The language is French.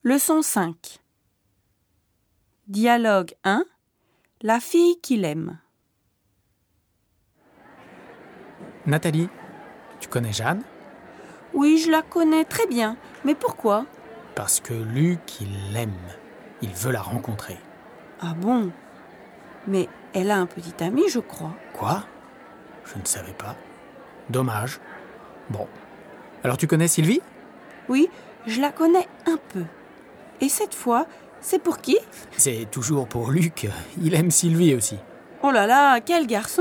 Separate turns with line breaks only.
Leçon 5. Dialogue 1. La fille qu'il aime.
Nathalie, tu connais Jeanne ?
Oui, je la connais très bien. Mais pourquoi ?
Parce que Luc, il l'aime. Il veut la rencontrer.
Ah bon ? Mais elle a un petit ami, je crois.
Quoi ? Je ne savais pas. Dommage. Bon. Alors tu connais Sylvie ?
Oui, je la connais un peu. Et cette fois, c'est pour qui ?
C'est toujours pour Luc. Il aime Sylvie aussi.
Oh là là, quel garçon !